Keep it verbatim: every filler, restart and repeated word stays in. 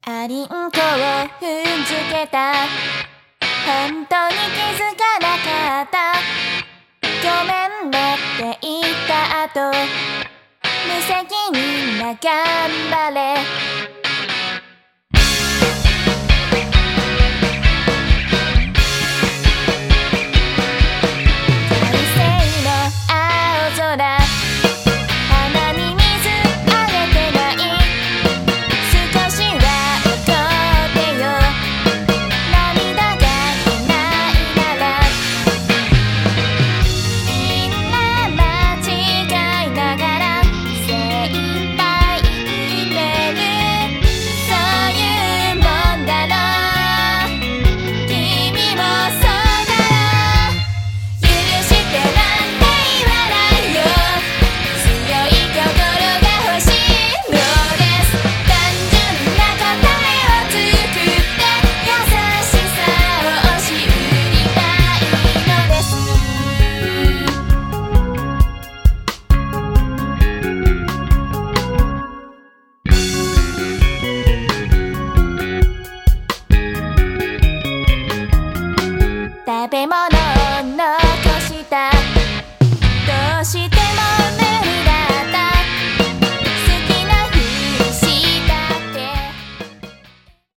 アリンコを踏んづけた。本当に気づかなかった。ごめんねって言った後、無責任な頑張れ。快晴の青空、鼻に水あげてない。少しは怒ってよ、涙が出ないなら。みんな間違いながら精一杯生きてる。そういうもんだろう、君もそうだろう。許してなんて言わないよ、強い心が欲しいのです。単純な答えを作って優しさを押し売りたいのです。食べ物を残した。どうして